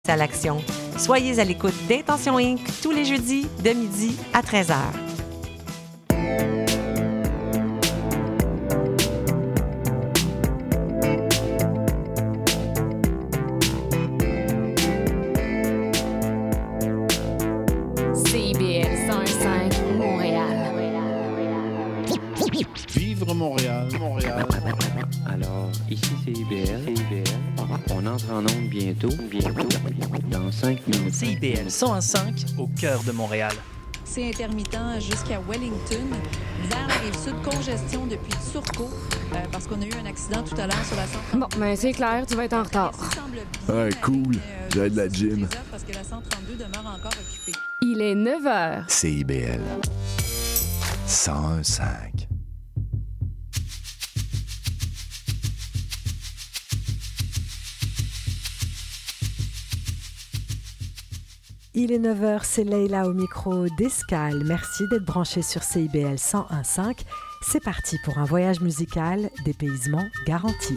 à l'action. Soyez à l'écoute d'Intention Inc. tous les jeudis de midi à 13h. CIBL 101.5 Montréal. Vivre Montréal, Montréal. Alors, ici CIBL. On entre en onde bientôt. Dans 5 minutes. CIBL 101.5 au cœur de Montréal. C'est intermittent jusqu'à Wellington. Vers la Rive-Sud, congestion depuis Turcot, parce qu'on a eu un accident tout à l'heure sur la 132. Bon, ben c'est clair, tu vas être en retard. Ah, cool. J'ai de la gym. Parce que la 132 demeure encore occupée. Il est 9h. CIBL 101.5. Il est 9h, c'est Leïla au micro d'Escale. Merci d'être branché sur CIBL 101.5. C'est parti pour un voyage musical, dépaysement garanti.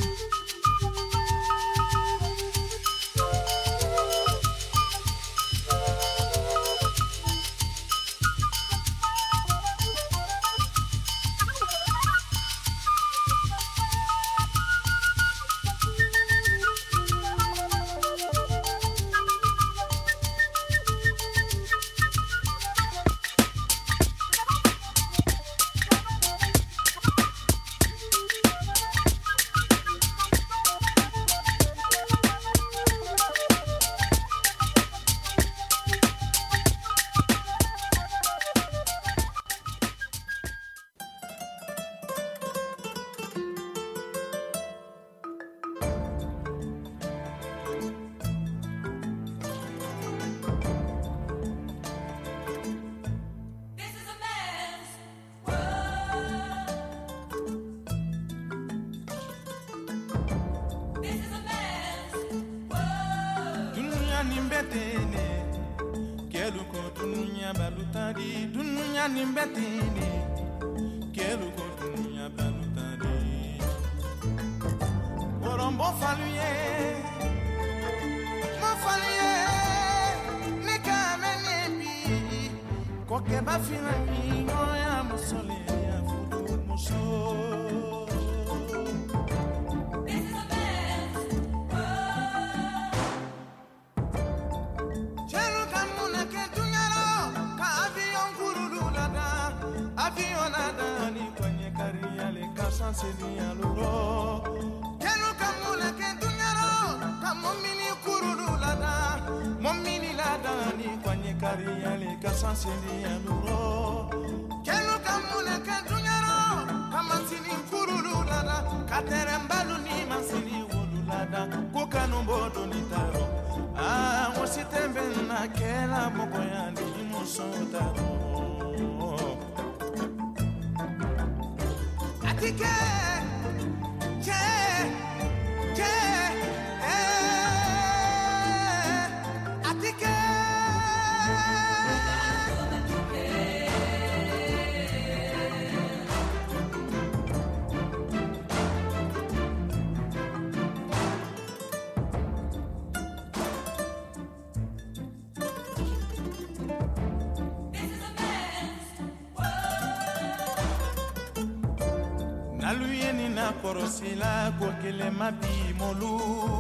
Korosila kokele mabi molu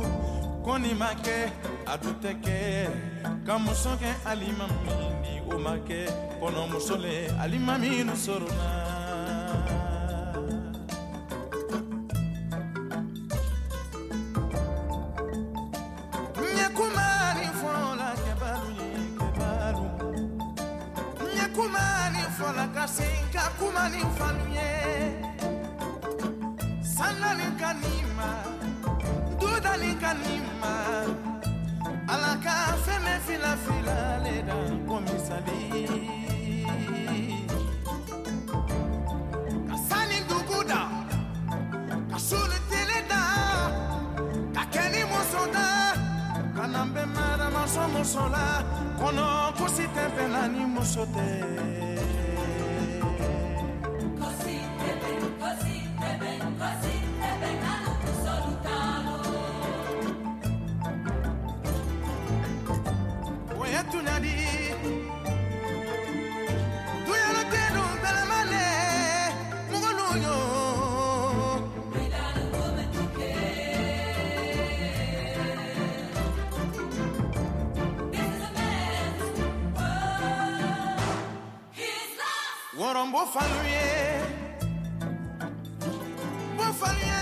koni make aduteke kamusoke alimamini omake kono musole alimaminu sorona nyakumani fola kebalu nyakumani fola kasinka kumani faluye Sanani kanima, dudani kanima, alaka feme fila leda komisali. Kasani duguda, kasuli teleda, kakeni mosoda, kanambe mara masomo sola, kono kusite penani mosote. Warombo faluye Bo faluye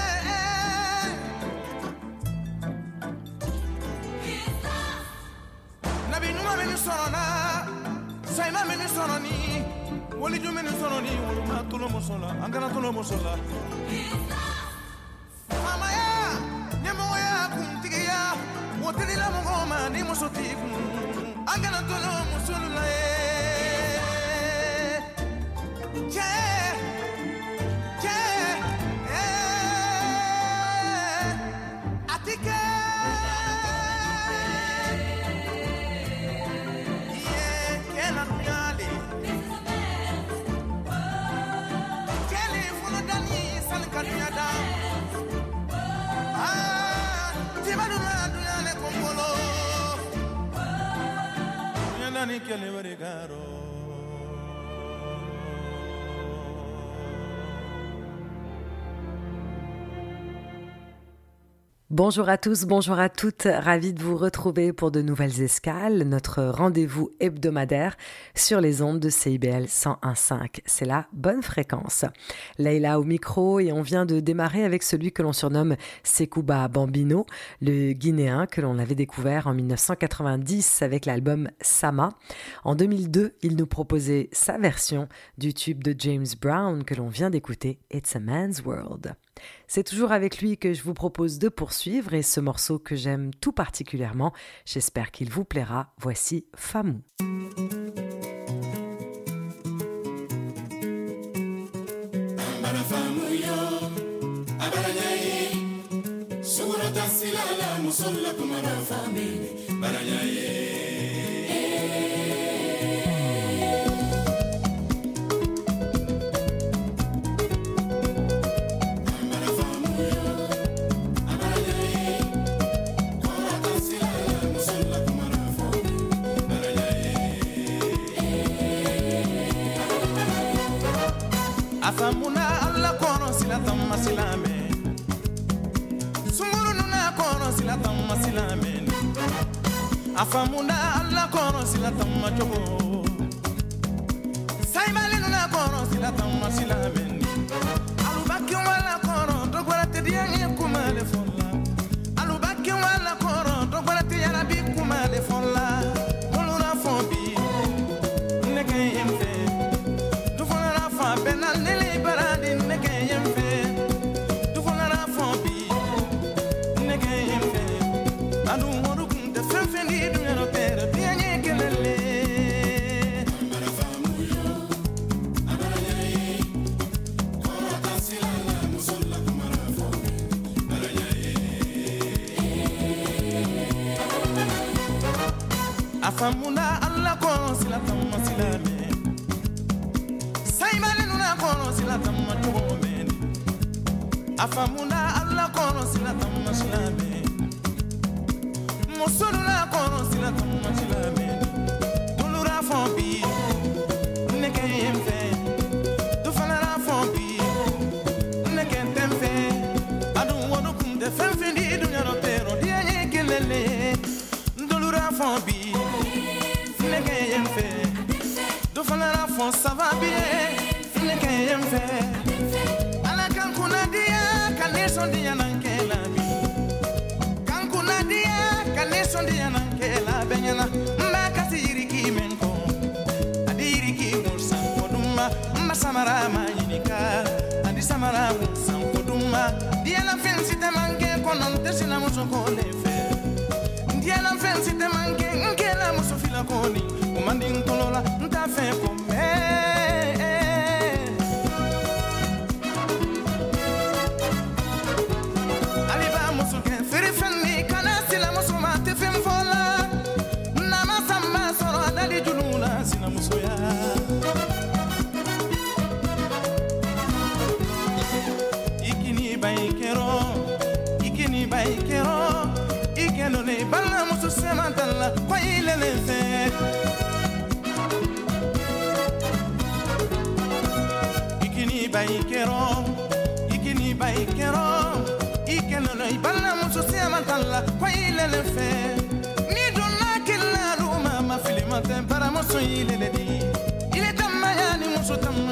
Nabi numa meni sorona Sayna meni soroni Woli ju meni soroni Woluma tulo musola Angana tulo musola Mama ya Nyemo ya kumtigiya Wotini la mugoma Ni musoti Angana tulo musola Yeah, yeah, yeah. I think yeah, cannot be ali. Kelly full of Danny, San Cadiada. Ah, Timaduna, Duyane Congolo. Yanani Kelly Varigaro. Bonjour à tous, bonjour à toutes, ravi de vous retrouver pour de nouvelles escales, notre rendez-vous hebdomadaire sur les ondes de CIBL 101.5. C'est la bonne fréquence. Leïla au micro et on vient de démarrer avec celui que l'on surnomme Sekouba Bambino, le Guinéen que l'on avait découvert en 1990 avec l'album Sama. En 2002, il nous proposait sa version du tube de James Brown que l'on vient d'écouter, It's a Man's World. C'est toujours avec lui que je vous propose de poursuivre et ce morceau que j'aime tout particulièrement, j'espère qu'il vous plaira. Voici Famou. Afamuna alla kono sila tamma silame Sumuru nuna kono sila tamma silame Afamuna alla kono sila tamma chobo Saimale nuna kono sila tamma silame Alubaki wala kono dogwala te diyangi kumale folla Alubaki wala kono dogwala te yarabi kumale folla Mulura fombi Neke yemfe Dufona fa benal nele baradi neke yemfe Dufona fombi neke yemfe Adu modu kunte fenfendi dunyano pere diyangi kelele Amara famuyo Amara yae Kora tasilala musolla kumara fombi Amara yae Afamuna alla kono sila tamma silame Saimale nuna kono sila tamma chobo meni Afamuna alla kono sila tamma silame Musuluna kono sila tamma silame Dulura fombi Neke yemfe Dufanara fombi Neke temfe Adu wadu kunde fenfendi dunyano pero dianye kelele Dulura fombi Neke yemfe Dufanara fon ça va bien Neke yemfe Ala kankuna dia Kaneson dia nankela bi Kankuna dia Kaneson dia nankela benyana Mbakasi yiriki menko Adi yiriki mursa koduma Mba samara mayinika Adi samara mursa koduma Dia la fensi te manke Konante sina muso kolefe Dia la fensi te manke Nkela muso fila koni Umandi ntolola Ntafe kome Aliba muso ke Feri fenni Kana sila muso mate fem fola Nama samba soro Adali julula Sina muso ya Ikini baikero Ikini baikero Ikeno ne Bala muso semantala Kwa ile lefe Ikini baikero Ikeno ne Bala muso semantala Kwa ile lefe Ni donna kila ruma Ma filimate para muso ile ledi Ile tamaya ni muso tamaya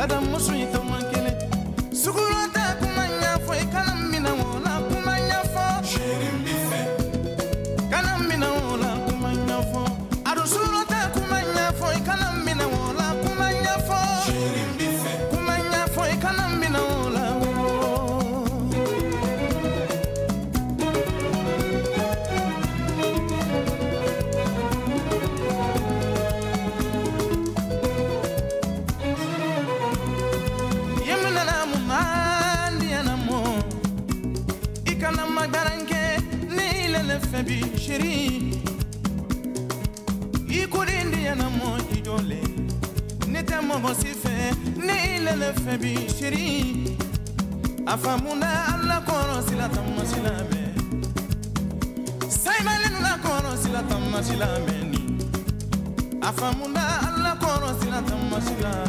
Adam musuita mankele Sugurota kumanya fo ikanamina wona kumanya fo Shirimbife Kanamina wona kumanya fo Arusurota kumanya fo ikanamina wona kumanya fo Shirimbife Kumanya fo ikanamina wona Febi shiri Ikurindi ya na mo ijole Nete mo bosife Ni lele febi shiri Afamuna alla koro sila tamma sila be Saimale nuna koro sila tamma sila meni Afamuna alla koro sila tamma sila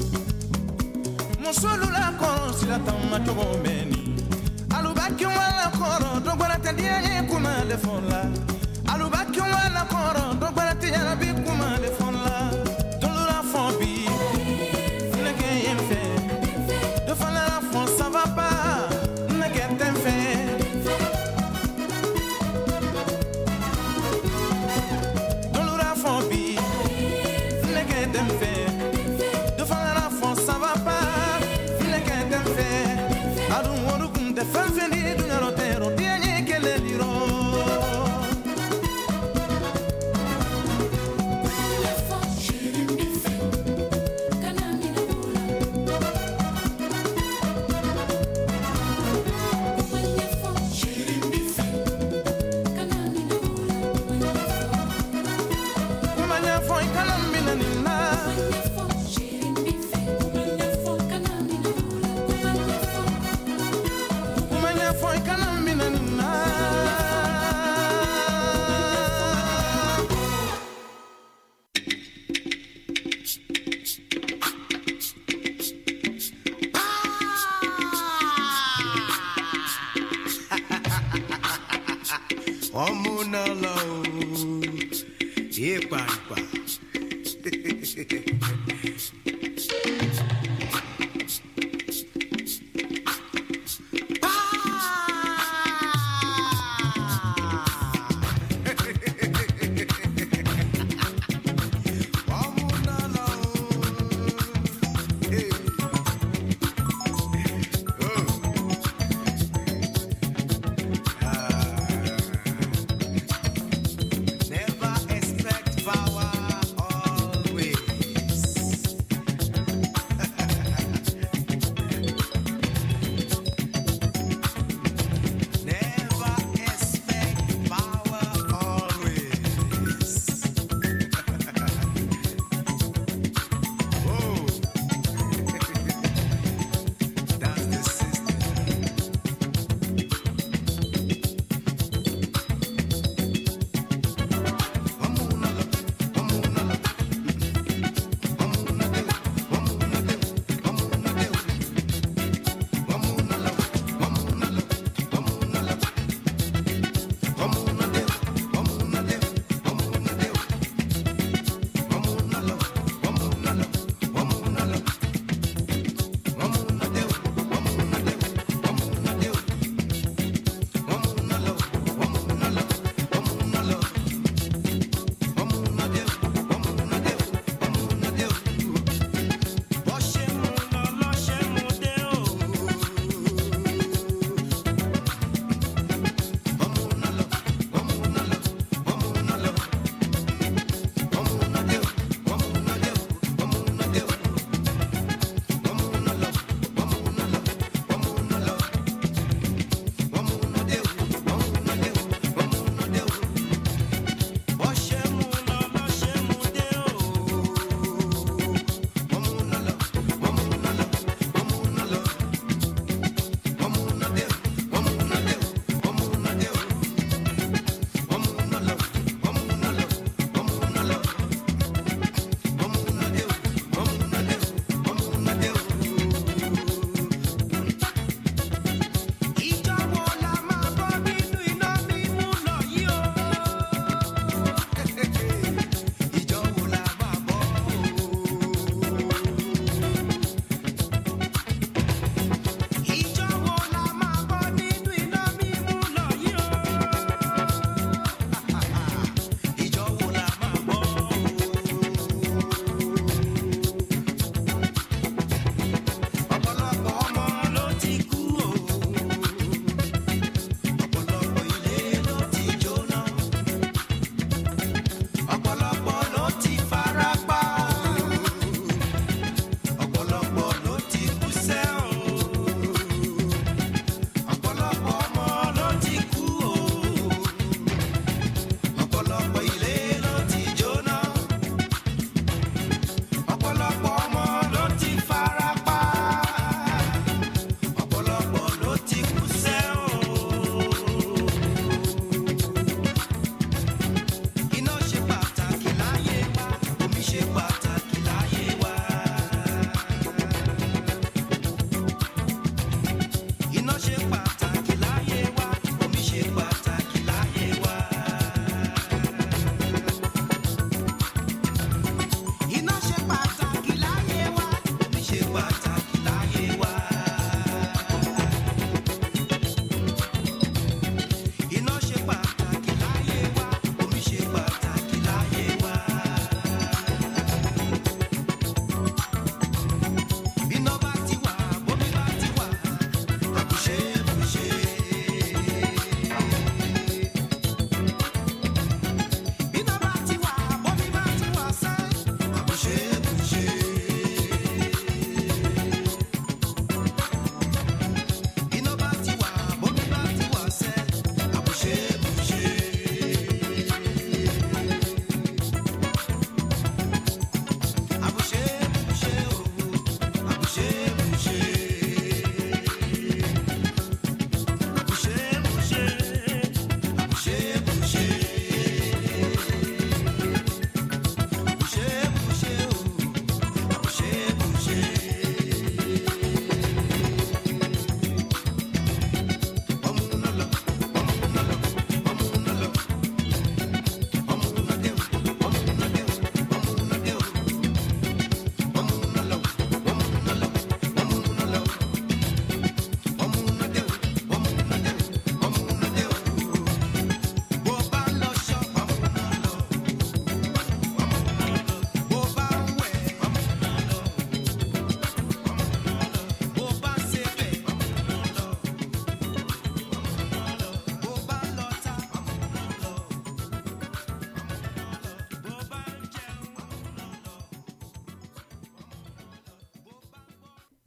Musulu la koro sila tamma togo meni Alubaki wala koro dogwara tadiye kuma le fonla Alubaki wala koro dogwara tiyana bi kuma le fonla Dolura fombi Neke yemfe De fala la fon ça va pas Neke temfe Dolura fombi Neke temfe De fala la fon ça va pas Neke temfe Adu woru kunde fanfeni dunyaro tero Dianye kele liro Kumanya foi kanamina nina Kumanya foi kanamina nina Omuna lao Epa Never expect power always.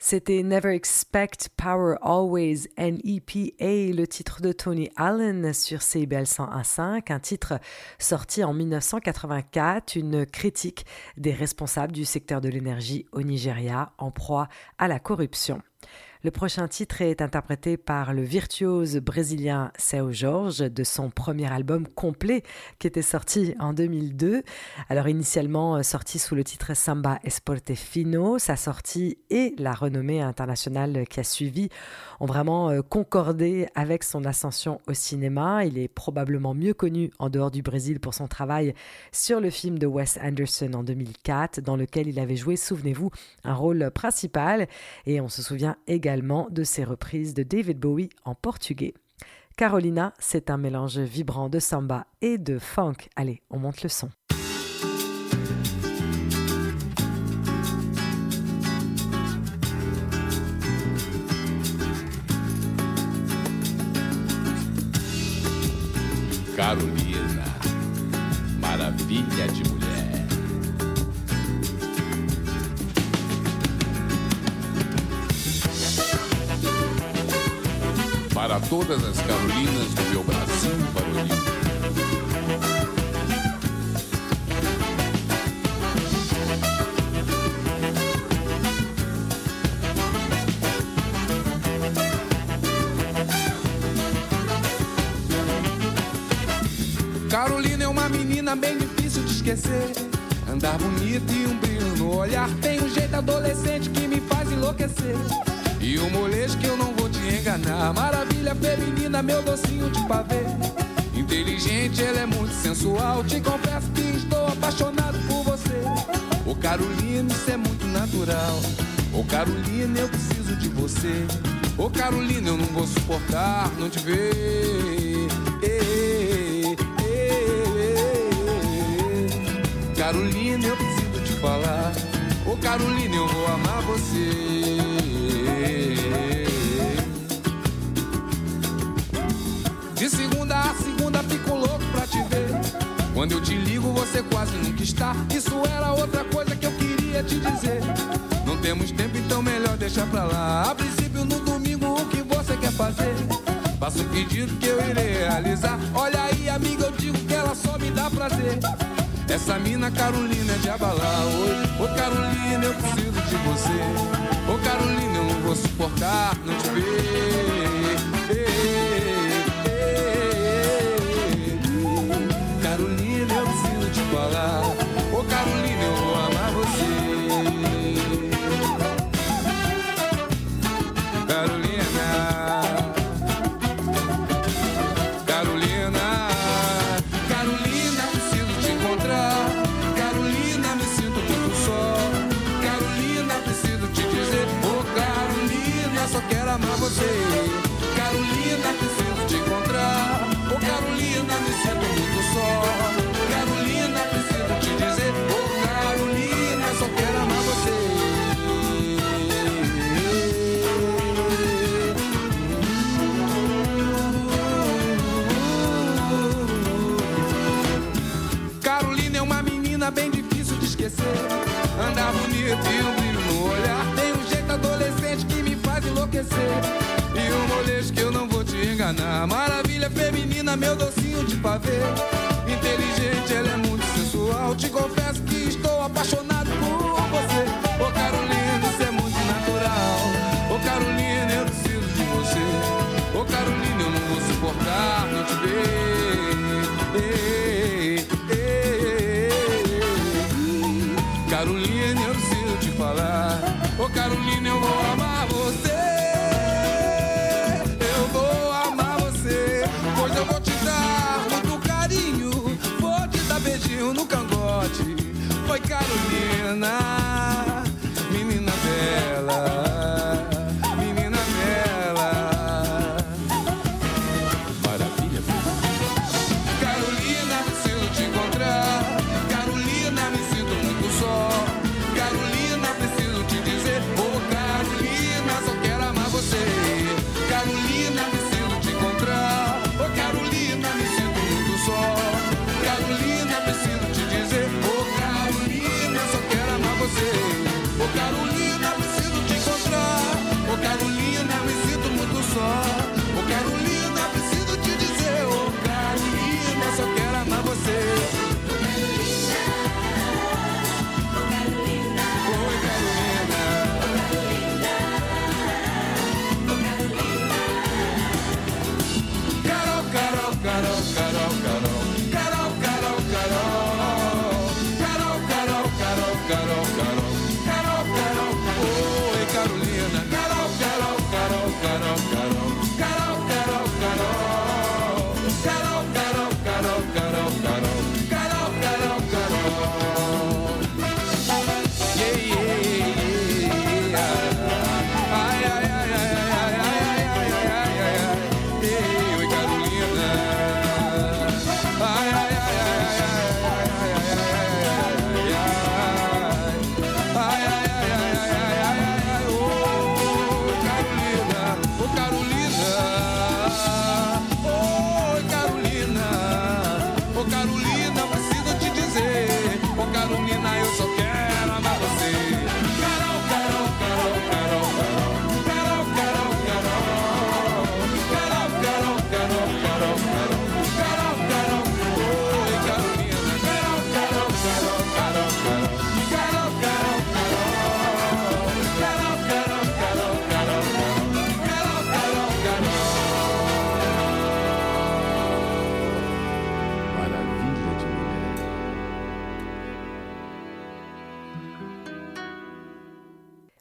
C'était Never Expect Power Always, NEPA, le titre de Tony Allen sur CIBL 101.5, un titre sorti en 1984, une critique des responsables du secteur de l'énergie au Nigeria en proie à la corruption. Le prochain titre est interprété par le virtuose brésilien Seu Jorge de son premier album complet qui était sorti en 2002. Alors initialement sorti sous le titre Samba Esporte Fino, sa sortie et la renommée internationale qui a suivi ont vraiment concordé avec son ascension au cinéma. Il est probablement mieux connu en dehors du Brésil pour son travail sur le film de Wes Anderson en 2004 dans lequel il avait joué, souvenez-vous, un rôle principal et on se souvient également de ses reprises de David Bowie en portugais. Carolina, c'est un mélange vibrant de samba et de funk. Allez, on monte le son. Carolina, maravilha de mulher. Para todas as Carolinas do meu Brasil varonil. Carolina é uma menina bem difícil de esquecer. Andar bonita e um brilho no olhar. Tem um jeito adolescente que me faz enlouquecer. E um molejo que eu não vou te enganar. Maravilha feminina, meu docinho de pavê. Inteligente, ela é muito sensual. Te confesso que estou apaixonado por você. Ô Carolina, isso é muito natural. Ô Carolina, eu preciso de você. Ô Carolina, eu não vou suportar não te ver. Carolina, eu preciso te falar. Ô Carolina, eu vou amar você. De segunda a segunda fico louco pra te ver. Quando eu te ligo você quase nunca está. Isso era outra coisa que eu queria te dizer. Não temos tempo, então melhor deixar pra lá. A princípio no domingo o que você quer fazer? Faça um pedido que eu irei realizar. Olha aí amiga, eu digo que ela só me dá prazer. Essa mina Carolina é de abalar. Ô Carolina, eu preciso de você. Ô Carolina, eu não vou suportar não te ver. Carolina, eu preciso te falar. Ô Carolina, eu vou amar você. Carolina, Carolina, Carolina, preciso te encontrar. Carolina, me sinto muito só. Carolina, preciso te dizer. Ô Carolina, só quero amar você. Carolina, preciso te encontrar. Ô Carolina, me sinto muito só. Carolina, preciso te dizer. Ô Carolina, só quero amar você. Carolina é uma menina bem difícil de esquecer. Andar bonita e um brilho no olhar. Tem um jeito adolescente que me faz enlouquecer. E um molejo que eu não vou te enganar. Maravilha feminina, meu docinho de pavê. Inteligente, ela é muito sensual. Te confesso que estou apaixonado por você. Ô Carolina, isso é muito natural. Ô Carolina, eu preciso de você. Ô Carolina, eu não vou suportar não te ver. Carolina, eu preciso te falar. Ô Carolina, eu vou amar você. Eu vou amar você. Pois eu vou te dar muito carinho. Vou te dar beijinho no cangote. Foi Carolina, menina bela, menina bela. Maravilha. Carolina, preciso te encontrar. Carolina, me sinto muito só. Carolina, preciso te dizer. Ô Carolina, só quero amar você. Carolina, preciso te encontrar. Ô Carolina, me sinto muito só. Carolina, preciso te dizer. Ô Carolina, só quero amar você. Ô Carolina, preciso te encontrar.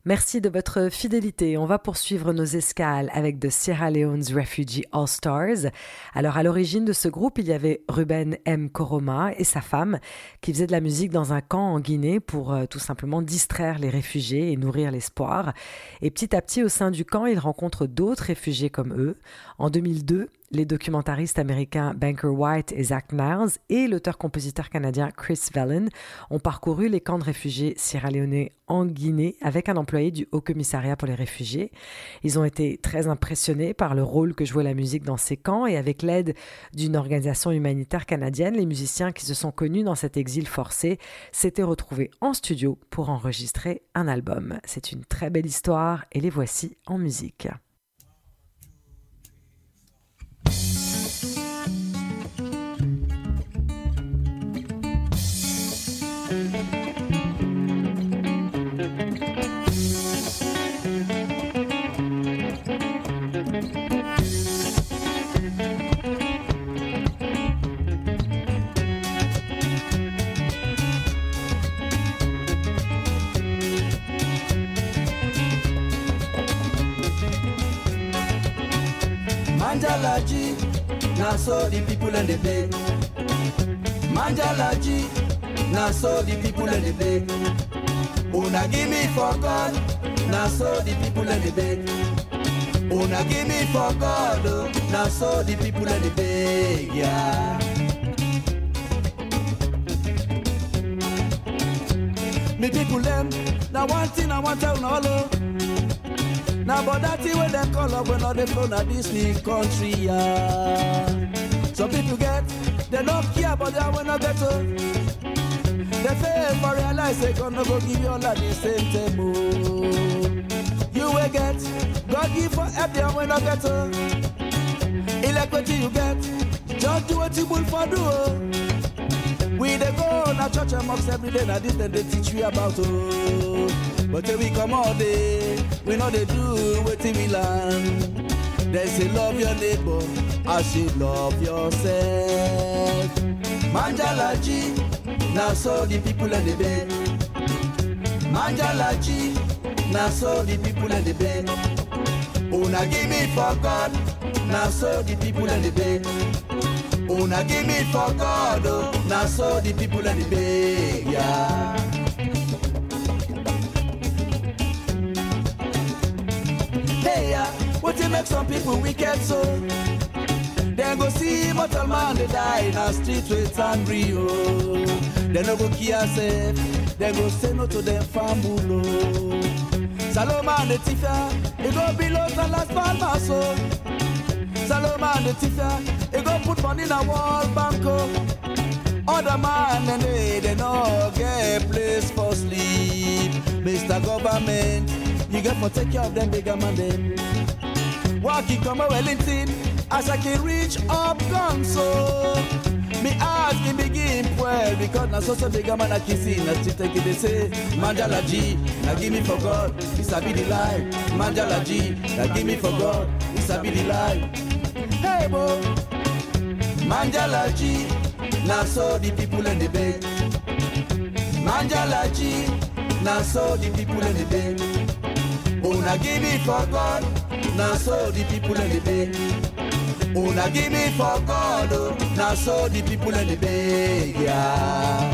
Merci de votre fidélité. On va poursuivre nos escales avec The Sierra Leone's Refugee All Stars. Alors, à l'origine de ce groupe, il y avait Ruben M. Koroma et sa femme qui faisaient de la musique dans un camp en Guinée pour tout simplement distraire les réfugiés et nourrir l'espoir. Et petit à petit, au sein du camp, ils rencontrent d'autres réfugiés comme eux. En 2002, les documentaristes américains Banker White et Zach Niles et l'auteur-compositeur canadien Chris Vellon ont parcouru les camps de réfugiés sierra-léonais en Guinée avec un employé du Haut-Commissariat pour les réfugiés. Ils ont été très impressionnés par le rôle que jouait la musique dans ces camps et avec l'aide d'une organisation humanitaire canadienne, les musiciens qui se sont connus dans cet exil forcé s'étaient retrouvés en studio pour enregistrer un album. C'est une très belle histoire et les voici en musique. Manjalaji, now so the people in the bay. Manjalaji, now so the people in the bay. Una give me for God, now so the people in the bay. Una give me for God, now so the people in the bay, yeah. Me people them, now one thing I want to know. Now but that thing when they call up when all they flow na this new country, yeah. Some people get, they don't care but they will not get to. They fail for realize they gonna go give you all at the same time. You will get, God give for help they will not get to. Equity you get, just do what you will for do. We they go na church and mosque every day, na this then they teach you about But till we come all day, we know they do what we learn. They say love your neighbor as you love yourself. Manjalaji, now so the people in the bed. Manjalaji, now so the people in the bed. Una give me for God, now so the people in the bed. Una give me for God, now so the people in the bed, yeah. Hey, what you make some people wicked so? Then go see mortal man they die in a street with angry, oh. They no go care safe, they go say no to them family. Saloma the Tifia, it go below the last palmas, so. Saloma the Tifia, it go put money in a wall banco. Other man and they no get place for sleep. Mr. Government, you got to take care of them bigger man them. Walking come a Wellington, as I can reach up gun so. Me ask him begin well, because na so bigger man I can see. Na still take it they say, Manjalaji, now give me for God, it's a be the life. Manjalaji, now give me for God, it's a be the life. Hey bo, Manjalaji, now so the people in the bed. Manjalaji, now so the people in the bed. Una give me for God, now so the people in the bed. Una give me for God, now so the people in the bed, yeah.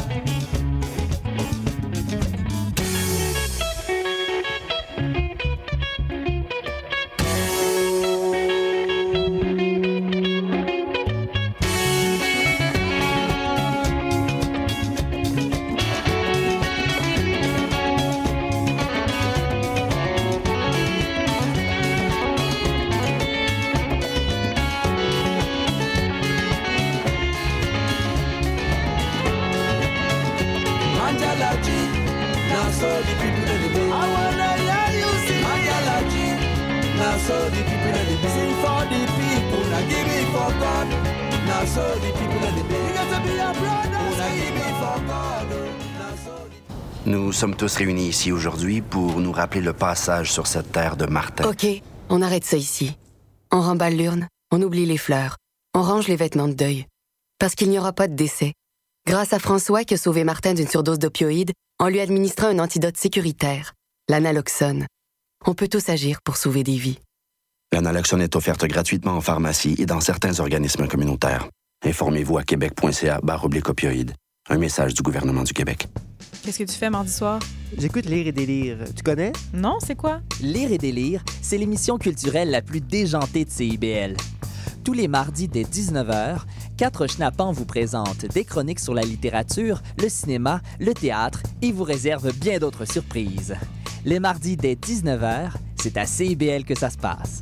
Nous sommes tous réunis ici aujourd'hui pour nous rappeler le passage sur cette terre de Martin. OK, on arrête ça ici. On remballe l'urne, on oublie les fleurs, on range les vêtements de deuil. Parce qu'il n'y aura pas de décès. Grâce à François qui a sauvé Martin d'une surdose d'opioïdes en lui administrant un antidote sécuritaire. L'analoxone. On peut tous agir pour sauver des vies. L'analoxone est offerte gratuitement en pharmacie et dans certains organismes communautaires. Informez-vous à québec.ca/opioïdes. Un message du gouvernement du Québec. Qu'est-ce que tu fais mardi soir? J'écoute Lire et délire. Tu connais? Non, c'est quoi? Lire et délire, c'est l'émission culturelle la plus déjantée de CIBL. Tous les mardis dès 19h, 4 schnappants vous présentent des chroniques sur la littérature, le cinéma, le théâtre et vous réservent bien d'autres surprises. Les mardis dès 19h, c'est à CIBL que ça se passe.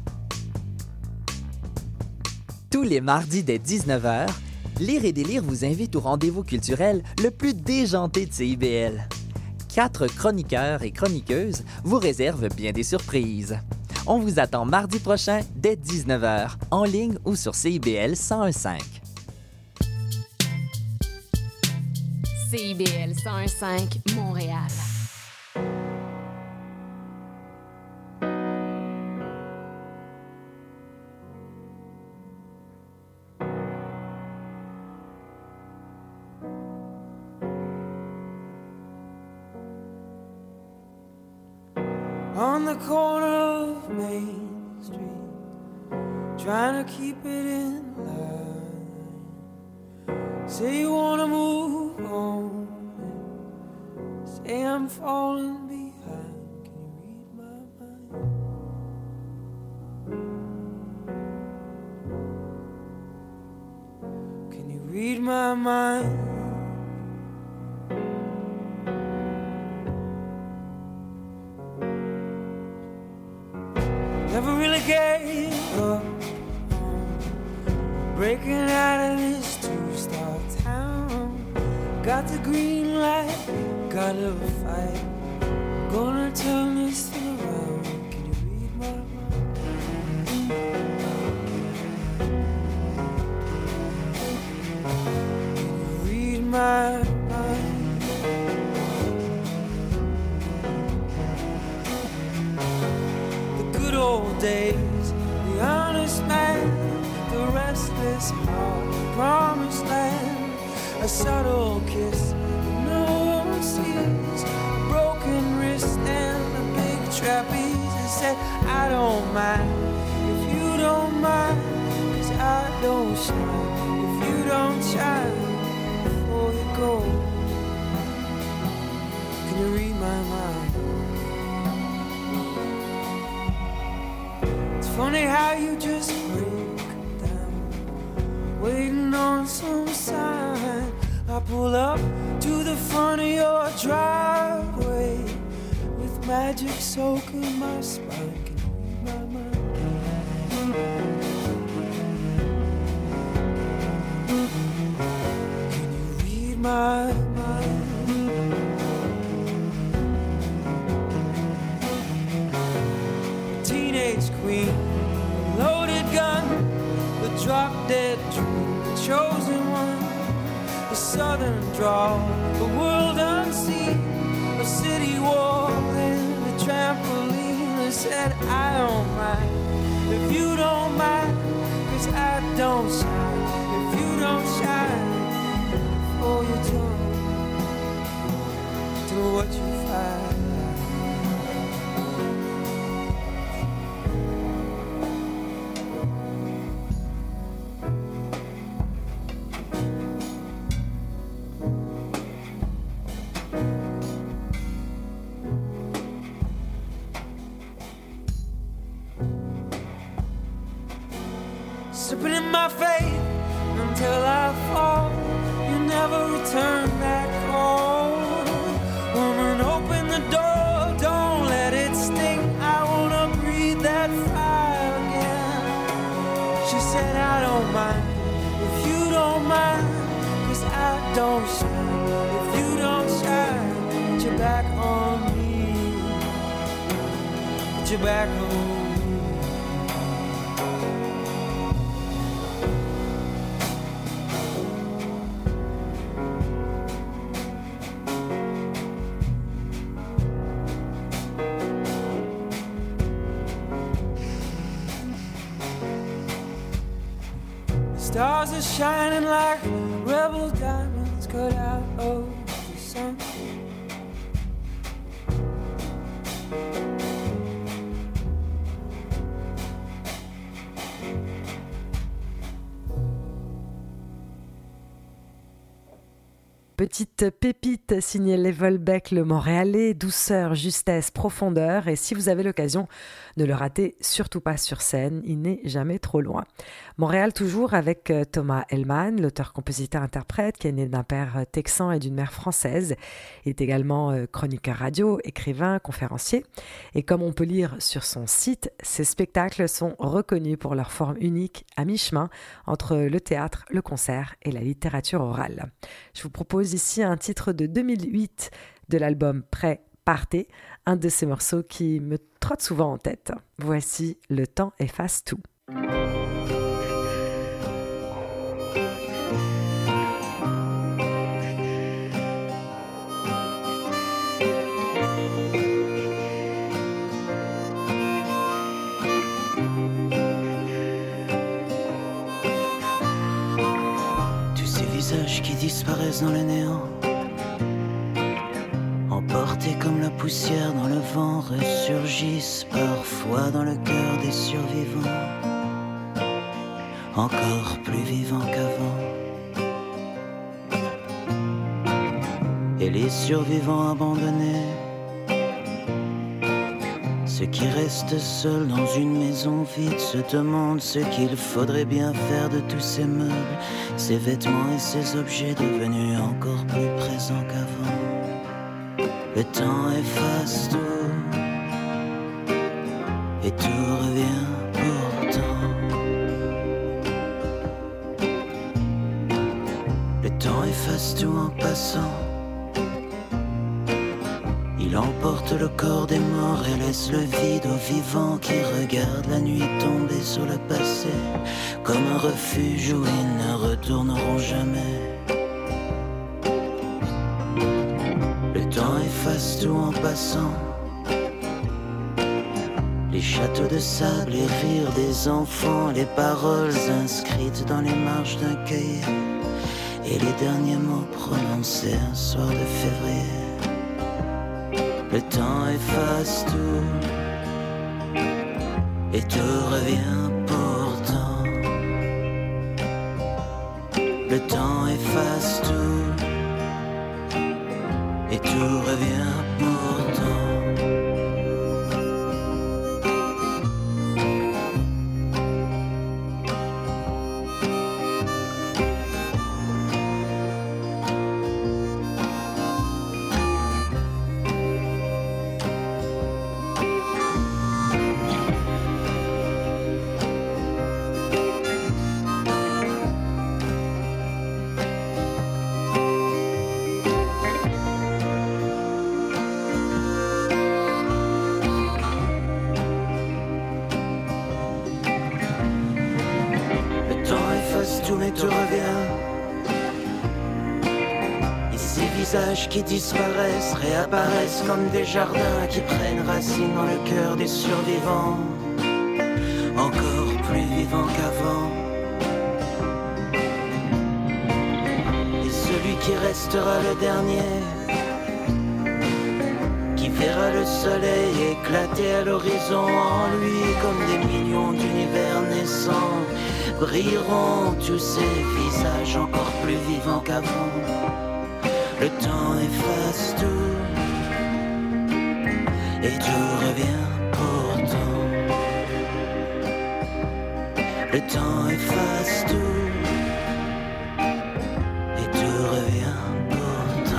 Tous les mardis dès 19h, Lire et délire vous invite au rendez-vous culturel le plus déjanté de CIBL. 4 chroniqueurs et chroniqueuses vous réservent bien des surprises. On vous attend mardi prochain dès 19h, en ligne ou sur CIBL 101.5. CIBL 101.5 Montréal. On the corner of Main Street, trying to keep it in line. Say you wanna move on, say I'm falling behind. Can you read my mind? Can you read my mind? Never really gave up on breaking out of this two-star town. Got the green light, got a little fight. Gonna turn this thing around. Can you read my mind? Can you read my mind? Old days, the honest man, the restless heart, the promised land, a subtle kiss no one sees, a broken wrist and a big trapeze. I said I don't mind if you don't mind, 'cause I don't shine if you don't shine before you go. Can you read my mind? Funny how you just break down, waiting on some sign. I pull up to the front of your driveway with magic soaking my spine. Can you read my mind? Can you read my mind? Teenage queen, loaded gun, the drop-dead dream, the chosen one, the southern drawl, the world unseen, a city wall and a trampoline. I said I don't mind if you don't mind, 'cause I don't shine if you don't shine. Oh, you don't do what you find. Slipping in my faith until I fall. You never return that call. Woman, open the door, don't let it sting. I wanna breathe that fire again. She said I don't mind if you don't mind, 'cause I don't shine if you don't shine. Put your back on me, put your back on me. Stars are shining like rebel diamonds cut out of the sun. petite pépite signée Levelbeck, le Montréalais, douceur, justesse, profondeur. Et si vous avez l'occasion, ne le ratez surtout pas sur scène, il n'est jamais trop loin. Montréal toujours avec Thomas Hellman, l'auteur-compositeur-interprète qui est né d'un père texan et d'une mère française. Il est également chroniqueur radio, écrivain, conférencier. Et comme on peut lire sur son site, ses spectacles sont reconnus pour leur forme unique à mi-chemin entre le théâtre, le concert et la littérature orale. Je vous propose ici un titre de 2008 de l'album Prêt, Partez, un de ces morceaux qui me trotte souvent en tête. Voici Le temps efface tout. Tous ces visages qui disparaissent dans le néant, emportés comme la poussière dans le vent, ressurgissent parfois dans le cœur des survivants, encore plus vivants qu'avant. Et les survivants abandonnés, ceux qui restent seuls dans une maison vide, se demandent ce qu'il faudrait bien faire de tous ces meubles, ces vêtements et ces objets devenus encore plus présents qu'avant. Le temps efface tout, et tout revient pourtant. Le temps efface tout en passant. Il emporte le corps des morts et laisse le vide aux vivants qui regardent la nuit tomber sur le passé comme un refuge où ils ne retourneront jamais. Le temps efface tout en passant. Les châteaux de sable, les rires des enfants, les paroles inscrites dans les marges d'un cahier et les derniers mots prononcés un soir de février. Le temps efface tout, et tout revient pourtant. Le temps efface tout, et tout revient pourtant. Qui disparaissent, réapparaissent comme des jardins qui prennent racine dans le cœur des survivants, encore plus vivants qu'avant. Et celui qui restera le dernier, qui verra le soleil éclater à l'horizon en lui comme des millions d'univers naissants, brilleront tous ces visages encore plus vivants qu'avant. Le temps efface tout, et tout revient pourtant. Le temps efface tout, et tout revient pourtant.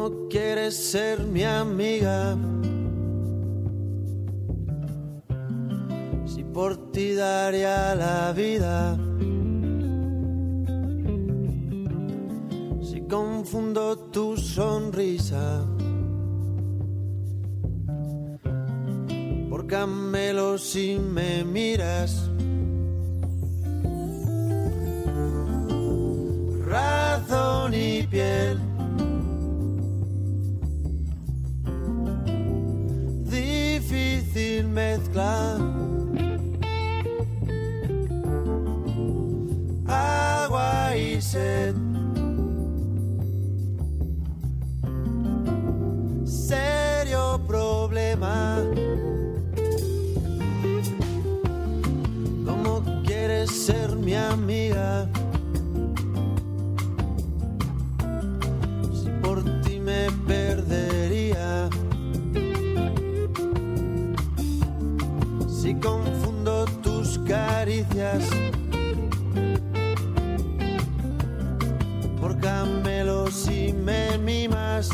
¿Cómo quieres ser mi amiga? Si por ti daría la vida. Si confundo tu sonrisa por camelos si me miras. Razón y piel, difícil mezcla. Agua y sed, serio problema. ¿Cómo quieres ser mi amiga? Si por ti me perdería. Si confundo tus caricias por camelos y me mimas.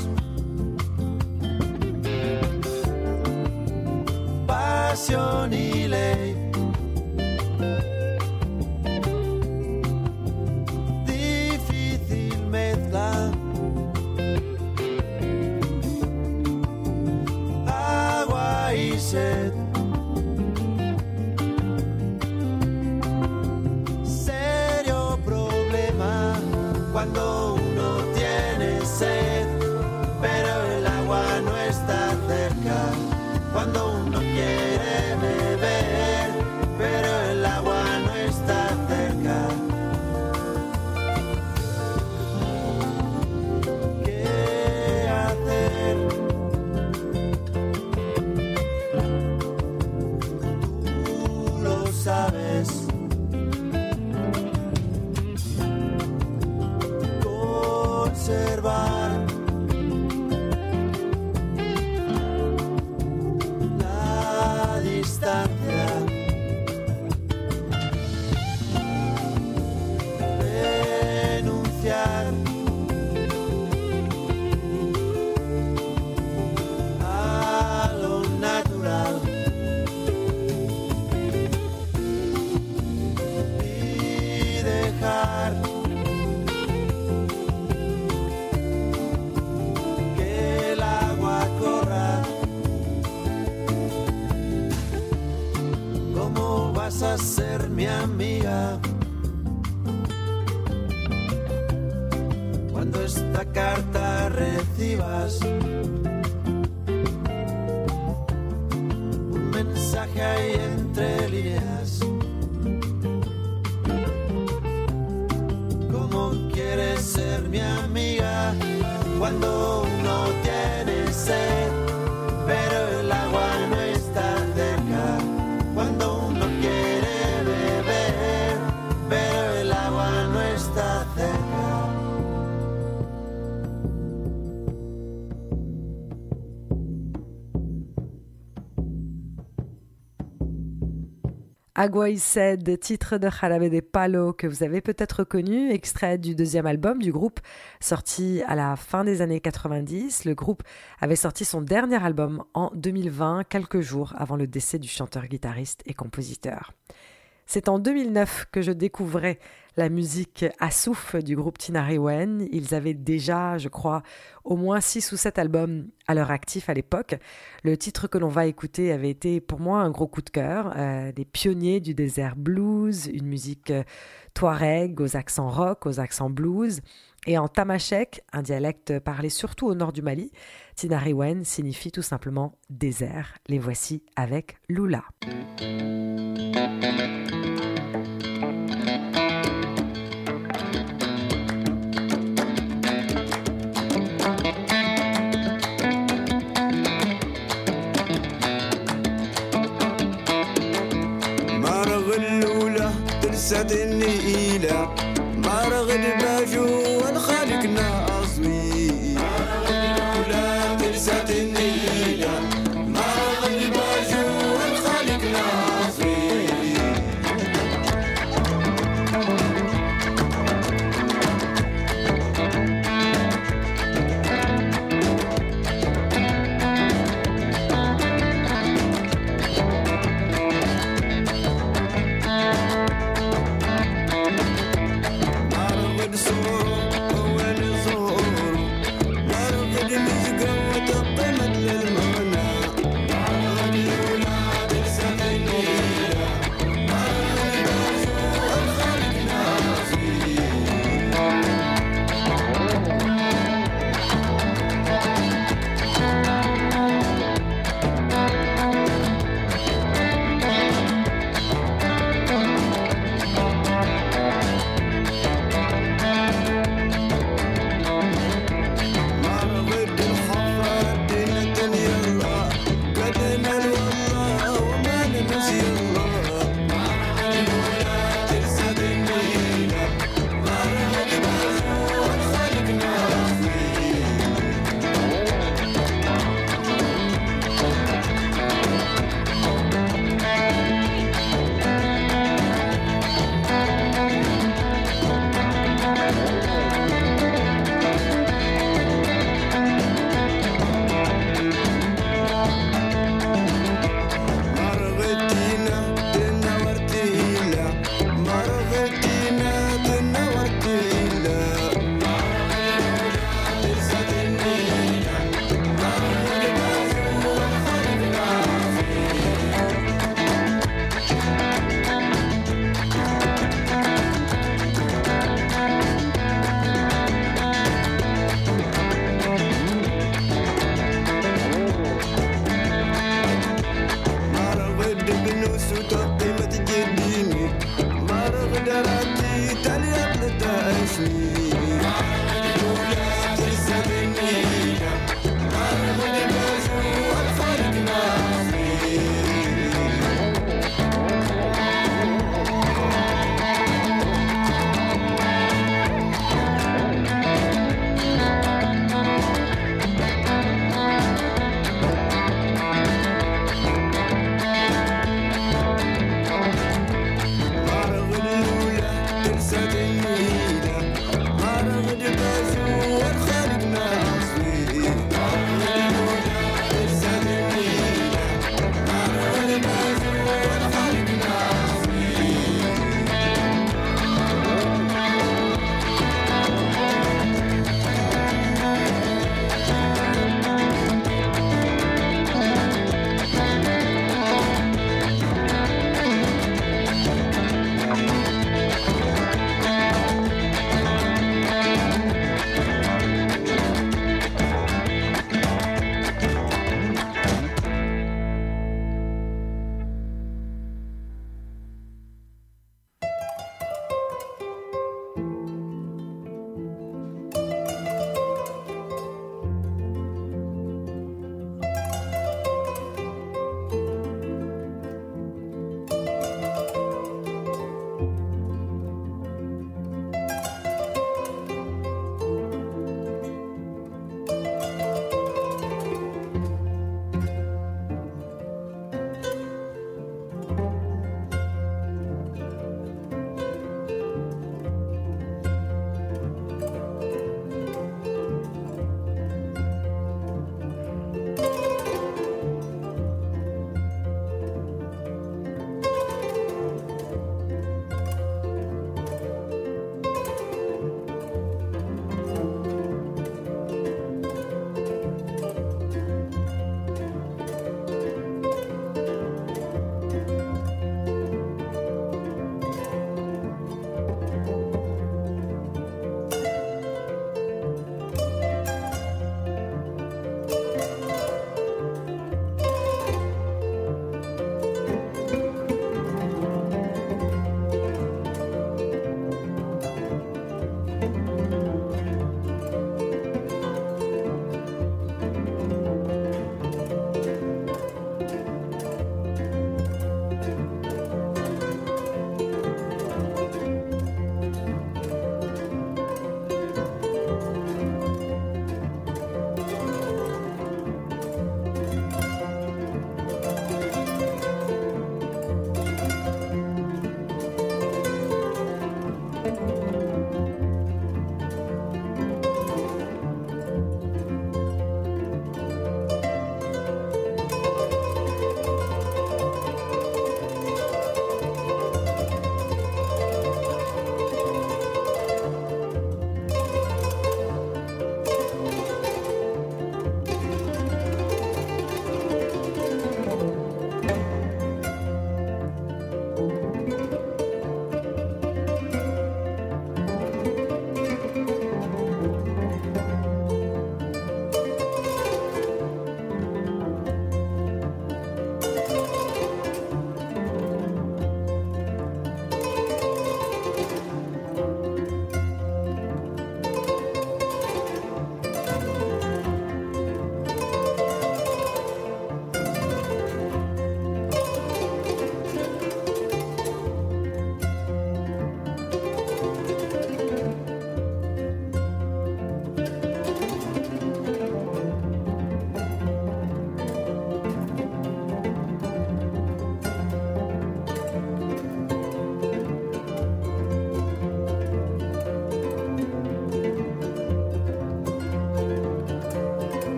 Pasión y ley, difícil mezcla. Agua y sed, serio problema. Cuando uno tiene sed, pero el agua no está cerca. Cuando uno quiere beber, pero el agua no está cerca. ¿Qué hacer? Tú lo sabes. Conservar la distancia, renunciar a lo natural y dejar que el agua corra. ¿Cómo vas a ser mi amiga cuando esta carta recibas un mensaje ahí entre líneas? ¿Cómo quieres ser mi amiga cuando uno tiene sed, pero el agua no está cerca? Cuando uno quiere beber, pero el agua no está cerca. Agua y Sed, titre de Jarabe de Palo que vous avez peut-être connu, extrait du deuxième album du groupe sorti à la fin des années 90. Le groupe avait sorti son dernier album en 2020, quelques jours avant le décès du chanteur, guitariste et compositeur. C'est en 2009 que je découvrais la musique Assouf du groupe Tinari Wen. Ils avaient déjà, je crois, au moins 6 ou 7 albums à leur actif à l'époque. Le titre que l'on va écouter avait été pour moi un gros coup de cœur. Des pionniers du désert blues, une musique touareg aux accents rock, aux accents blues. Et en tamashek, un dialecte parlé surtout au nord du Mali, Tinari Wen signifie tout simplement désert. Les voici avec Lula. تلسات النيلة مرغ الباجو والخالق ناصوي ولا تلسات النيلة مرغ الباجو والخالق ناصوي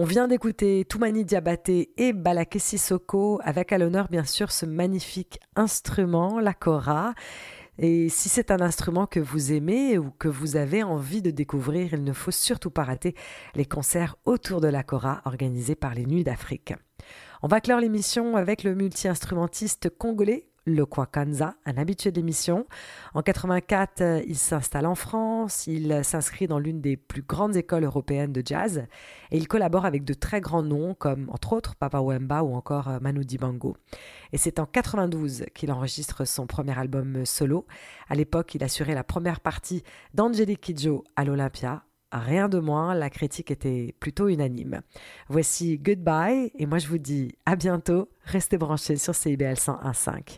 vient d'écouter Toumani Diabaté et Balaké Sissoko, avec à l'honneur bien sûr ce magnifique instrument, la kora. Et si c'est un instrument que vous aimez ou que vous avez envie de découvrir, il ne faut surtout pas rater les concerts autour de la kora organisés par les Nuits d'Afrique. On va clore l'émission avec le multi-instrumentiste congolais Lokwa Kanza, un habitué de l'émission. En 84, il s'installe en France, il s'inscrit dans l'une des plus grandes écoles européennes de jazz et il collabore avec de très grands noms comme entre autres Papa Wemba ou encore Manu Dibango. Et c'est en 92 qu'il enregistre son premier album solo. À l'époque, il assurait la première partie d'Angelique Kidjo à l'Olympia. Rien de moins, la critique était plutôt unanime. Voici Goodbye et moi je vous dis à bientôt. Restez branchés sur CIBL 101.5.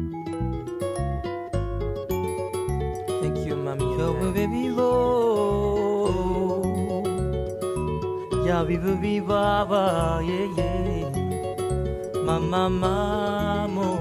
Thank you, mami. Yo baby vivo, ya vivo viva, yeah yeah. Mama mamo.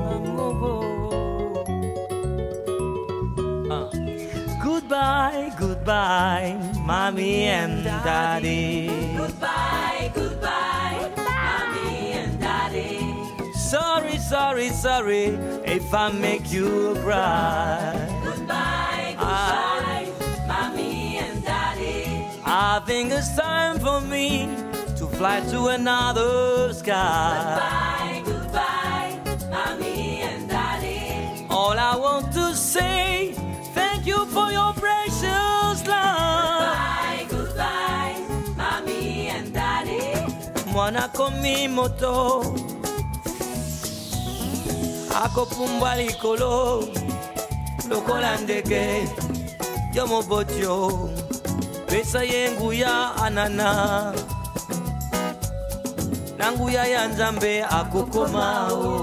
Goodbye, goodbye, mommy and daddy. Goodbye, goodbye, mommy and daddy. Sorry, sorry, sorry if I make you cry. Goodbye, goodbye, mommy and daddy. I think it's time for me to fly to another sky. Goodbye, goodbye, mommy and daddy. All I want to say, thank you for your precious love. Goodbye, goodbye, mommy and daddy. Mwana komi moto, ako pumbwa likolo, lokola ndege, yo mobotyo, pesa yenguya anana, nanguya ya nzambe akokoma,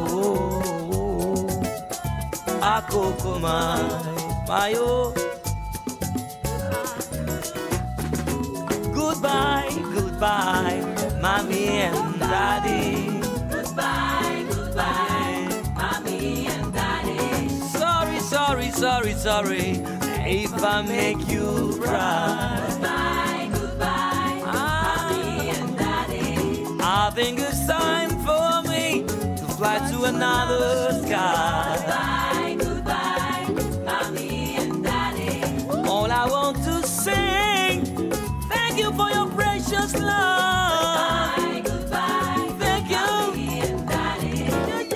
akokoma, mayo. Goodbye, goodbye, mommy and daddy. Goodbye, goodbye, mommy and daddy. Sorry, sorry, sorry, sorry if I make you cry. Goodbye, goodbye, mommy and daddy. I think it's time for me to fly to another sky. Goodbye, goodbye, mommy and daddy. All I want to say, thank you for your precious love. Goodbye, goodbye, thank you, mommy and daddy.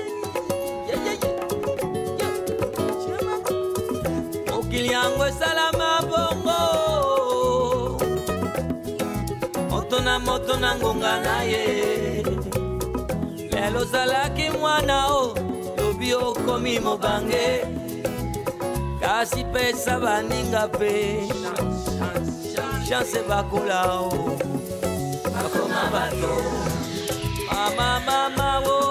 Mokili yangu salama bongo, moto na ngonga na ye. Lelo zalaki mwana o, lobi okomi mobange, kasi pesa baninga pe. Chance bakula o, bakoma bato, mama mama o.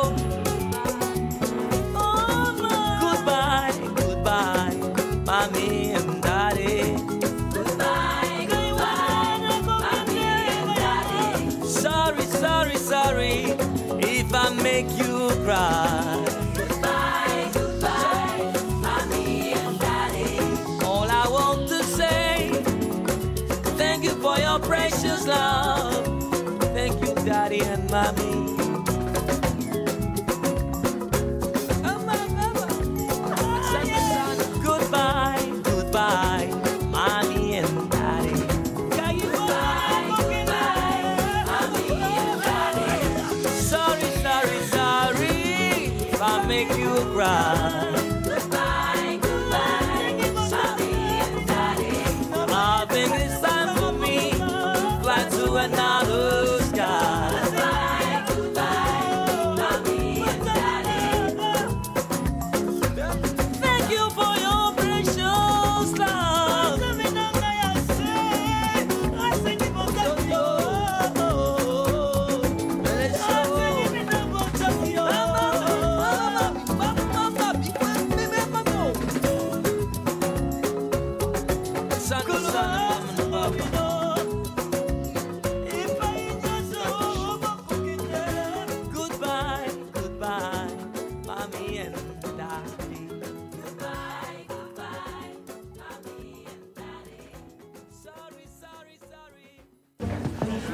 Goodbye, goodbye, mommy and daddy. Goodbye, goodbye, mommy and daddy. Sorry, sorry, sorry if I make you cry. Goodbye, goodbye, mommy and daddy. All I want to say, thank you for your precious love. Thank you, daddy and mommy. Goodbye, goodbye, mommy and daddy. Goodbye, goodbye, mommy and daddy. Sorry, sorry, sorry if I make you cry. Goodbye, goodbye, mommy and daddy. I think it's time for me to fly to another sky. Goodbye, goodbye, mommy and daddy. Thank you for your precious love.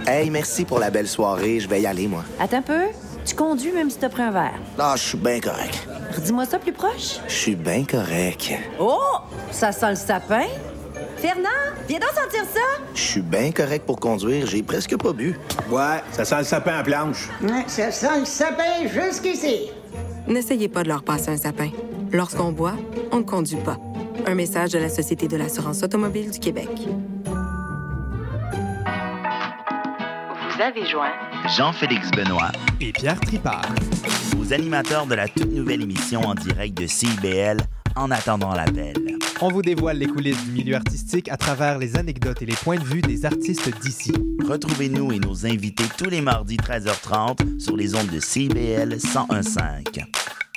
Hey, merci pour la belle soirée. Je vais y aller, moi. Attends un peu. Tu conduis même si t'as pris un verre. Ah, je suis bien correct. Redis-moi ça plus proche. Je suis bien correct. Oh! Ça sent le sapin. Fernand, viens donc sentir ça. Je suis bien correct pour conduire. J'ai presque pas bu. Ouais, ça sent le sapin à planche. Ouais, ça sent le sapin jusqu'ici. N'essayez pas de leur passer un sapin. Lorsqu'on boit, on ne conduit pas. Un message de la Société de l'assurance automobile du Québec. Vous avez joint Jean-Félix Benoît et Pierre Tripart, aux animateurs de la toute nouvelle émission en direct de CIBL, En attendant l'appel. On vous dévoile les coulisses du milieu artistique à travers les anecdotes et les points de vue des artistes d'ici. Retrouvez-nous et nos invités tous les mardis 13h30 sur les ondes de CIBL 101.5.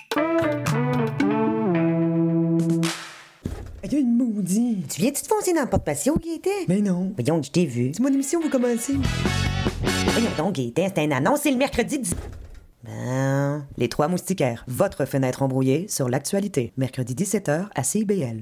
Il y a une maudite. Tu viens-tu te foncer dans le porte-patio, Gaëtan? Mais non. Voyons, je t'ai vu. C'est mon émission, vous commencez. Voyons donc, Gaëtan, c'est une annonce, c'est le mercredi 10... Ben... Les Trois Moustiquaires, votre fenêtre embrouillée sur l'actualité. Mercredi 17h à CIBL.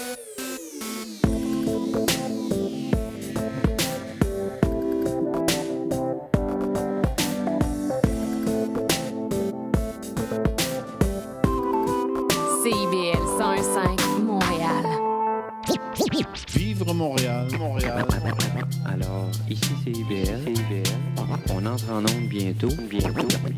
CIBL 101.5 Montréal. Vivre Montréal, Montréal. Alors, ici c'est CIBL. On entre en onde bientôt.